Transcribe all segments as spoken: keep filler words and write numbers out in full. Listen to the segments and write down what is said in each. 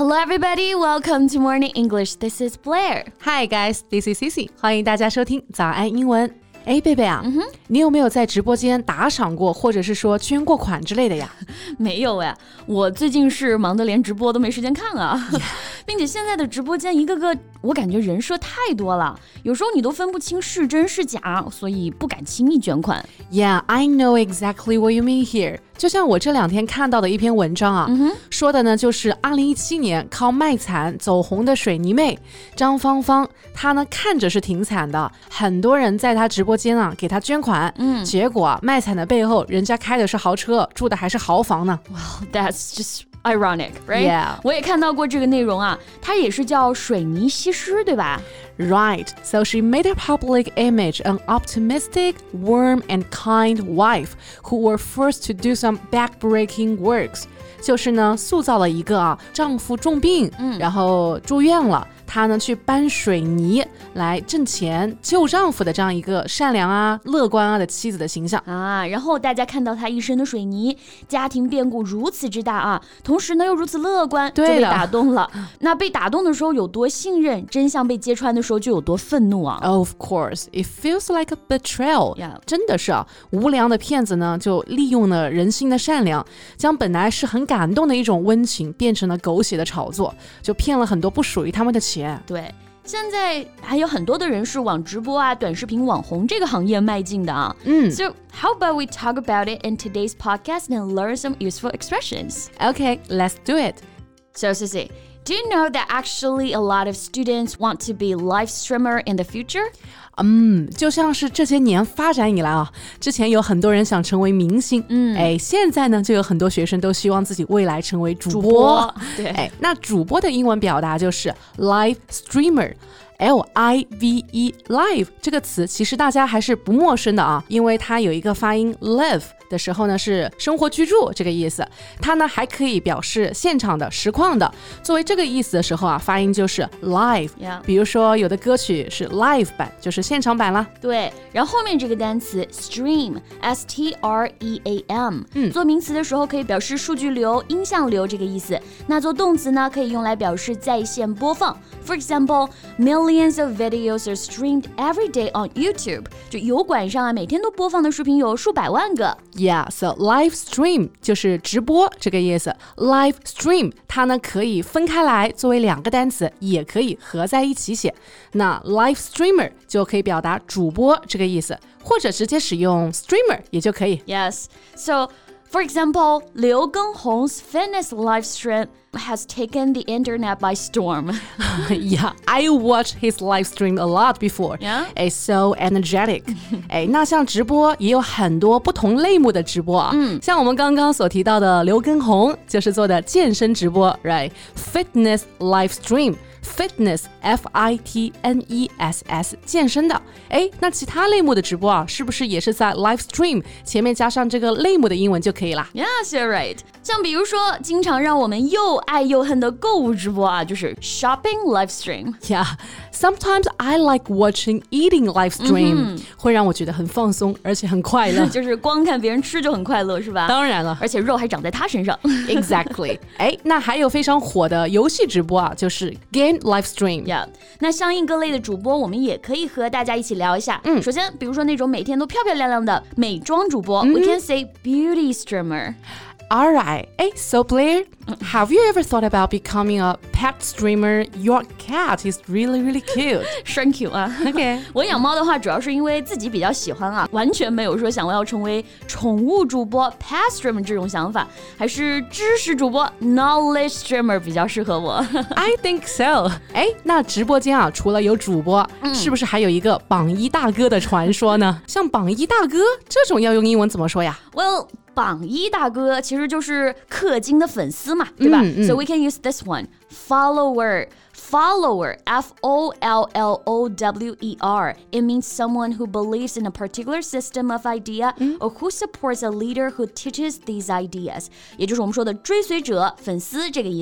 Hello everybody, welcome to Morning English. This is Blair. Hi guys, this is Cici. 欢迎大家收听早安英文。哎，贝贝啊，嗯、你有没有在直播间打赏过，或者是说捐过款之类的呀？ 没有呀，我最近是忙得连直播都没时间看啊， yeah. 并且现在的直播间一个个，我感觉人设太多了，有时候你都分不清是真是假，所以不敢轻易捐款。 Yeah, I know exactly what you mean here. 就像我这两天看到的一篇文章啊，嗯、说的呢就是二零一七年靠卖惨走红的水泥妹张芳芳，她呢看着是挺惨的，很多人在她直播间啊给她捐款，嗯，结果啊卖惨的背后，人家开的是豪车，住的还是豪房呢。 Wow, that's just ironic, right? Yeah. 我也看到过这个内容啊，它也是叫水泥西施，对吧 ？Right, so she made a public image an optimistic, warm and kind wife who were forced to do some backbreaking works. 就是呢，塑造了一个啊，丈夫重病，嗯、然后住院了。她呢去搬水泥来挣钱救丈夫的这样一个善良啊、乐观啊的妻子的形象啊，然后大家看到她一身的水泥，家庭变故如此之大啊，同时呢又如此乐观，就被打动了。那被打动的时候有多信任，真相被揭穿的时候就有多愤怒啊。 Of course, it feels like a betrayal. Yeah. 真的是啊，无良的骗子呢就利用了人心的善良，将本来是很感动的一种温情变成了狗血的炒作，就骗了很多不属于他们的钱。 对，现在还有很多的人是往直播啊、短视频网红这个行业迈进的啊。嗯 So how about we talk about it in today's podcast and learn some useful expressions? Okay, let's do it. So, Cici, do you know that actually a lot of students want to be live streamer in the future? 嗯，就像是这些年发展以来啊，之前有很多人想成为明星，嗯，哎，现在呢就有很多学生都希望自己未来成为主播。 主播对， 哎，那主播的英文表达就是 live streamer。L I V E live 这个词其实大家还是不陌生的啊，因为它有一个发音 live 的时候呢是生活居住这个意思，它呢还可以表示现场的实况的，作为这个意思的时候啊，发音就是 live、yeah. 比如说有的歌曲是 live 版，就是现场版啦。 对，然后后面这个单词 stream S T R E A M、嗯、做名词的时候可以表示数据流、音像流这个意思，那做动词呢可以用来表示在线播放。 For example, millions of videos are streamed every day on YouTube. 就油管上啊，每天都播放的视频有数百万个。 Yeah, so live stream 就是直播这个意思。Live stream 它呢可以分开来作为两个单词，也可以合在一起写。那 live streamer 就可以表达主播这个意思，或者直接使用 streamer 也就可以。 Yes, so for example, 刘畊宏's fitness live stream has taken the internet by storm. Yeah, I watched his live stream a lot before. Yeah? It's so energetic. 哎，那像直播也有很多不同类目的直播啊。嗯，像我们刚刚所提到的刘畊宏就是做的健身直播 ，right? Fitness live stream.Fitness, F I T N E S S 健身的。哎，那其他类目的直播啊，是不是也是在 live stream 前面加上这个类目的英文就可以啦？ Yes, you're right. 像比如说经常让我们又爱又恨的购物直播啊，就是 shopping live stream. Yeah, sometimes I like watching eating live stream、嗯、会让我觉得很放松，而且很快乐。 就是光看别人吃就很快乐，是吧？ 当然了， 而且肉还长在他身上。 Exactly. 哎，那还有非常火的游戏直播啊，就是 game live stream. Yeah. 那相应各类的主播，我们也可以和大家一起聊一下。嗯，首先，比如说那种每天都漂漂亮亮的美妆主播、嗯、，we can say beauty streamer.All right. Hey, so Blair, have you ever thought about becoming a pet streamer? Your cat is really, really cute. 是很 cute 啊。 Okay. 我养猫的话，主要是因为自己比较喜欢啊，完全没有说想要成为宠物主播 pet streamer 这种想法，还是知识主播 knowledge streamer 比较适合我。 I think so. 哎，那直播间啊，除了有主播，嗯、是不是还有一个榜一大哥的传说呢？像榜一大哥这种要用英文怎么说呀 ？Well.榜一大哥其实就是氪金的粉丝嘛，对吧、嗯嗯、？So we can use this one. Follower. Follower. F O L L O W E R. It means someone who believes in a particular system of idea、嗯、or who supports a leader who teaches these ideas. 也就是我们说的追随者、粉丝这个意思。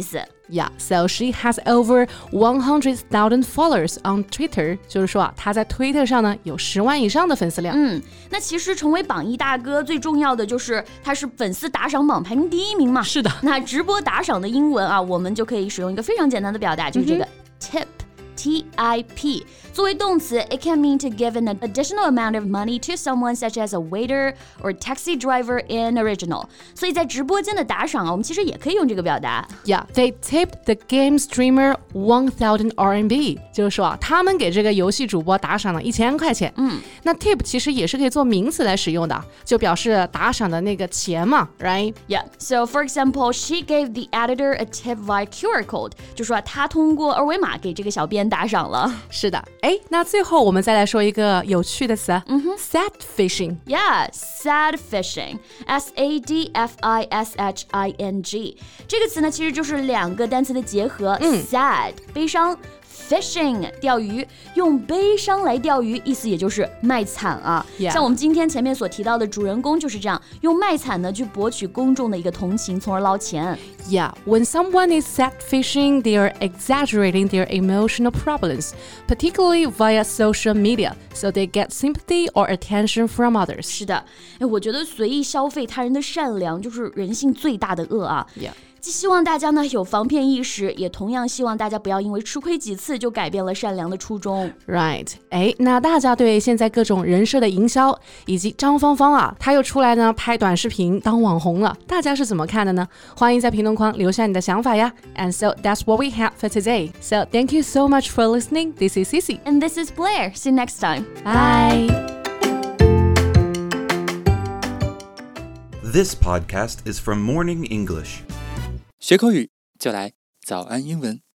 Yeah, so she has over one hundred thousand followers on Twitter. 就是说啊，她在推特上呢有十万以上的粉丝量。 嗯，那其实成为榜一大哥最重要的就是他是粉丝打赏榜排名第一名嘛。 是的。 那直播打赏的英文啊，我们就可以使用一个非常简单的表达，就是这个、嗯、tip。T I P 作为动词 it can mean to give an additional amount of money to someone such as a waiter or taxi driver in original. 所以在直播间的打赏啊，我们其实也可以用这个表达。 Yeah, they tipped the game streamer one thousand R M B. 就是说啊，他们给这个游戏主播打赏了一千块钱。 嗯， 那 tip 其实也是可以做名词来使用的，就表示打赏的那个钱嘛 ，right? Yeah. So for example, she gave the editor a tip via Q R code. 就说她通过二维码给这个小编打赏了。 是的，哎，那最后我们再来说一个有趣的词，嗯哼 sad fishing. Yeah, sad fishing. S A D F I S H I N G. 这个词呢，其实就是两个单词的结合，嗯 sad 悲伤。Fishing 钓鱼，用悲伤来钓鱼，意思也就是卖惨啊。 Yeah. 像我们今天前面所提到的主人公就是这样，用卖惨呢去博取公众的一个同情，从而捞钱。 Yeah, when someone is sad fishing, they are exaggerating their emotional problems, particularly via social media, so they get sympathy or attention from others. 是的，哎，我觉得随意消费他人的善良就是人性最大的恶啊。 Yeah. 既希望大家呢有防骗意识，也同样希望大家不要因为吃亏几次就改变了善良的初衷。 Right， 哎，那大家对现在各种人设的营销，以及张芳芳啊，她又出来呢拍短视频当网红了，大家是怎么看的呢？欢迎在评论框留下你的想法呀。And so that's what we have for today. So thank you so much for listening. This is Cici. And this is Blair. See you next time. Bye. This podcast is from Morning English. 学口语就来早安英文。